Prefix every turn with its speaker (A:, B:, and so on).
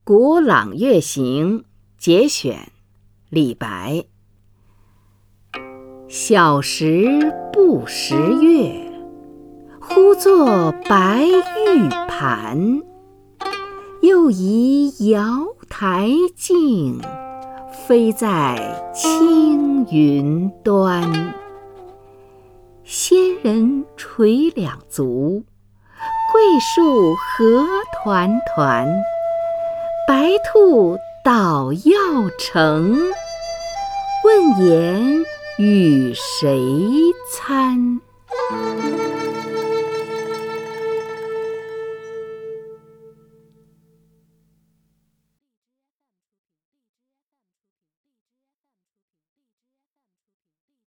A: 古朗月行节选，李白。小时不识月，呼作白玉盘。又疑瑶台镜，飞在青云端。仙人垂两足，桂树何团团。白兔捣药成，问言与谁餐？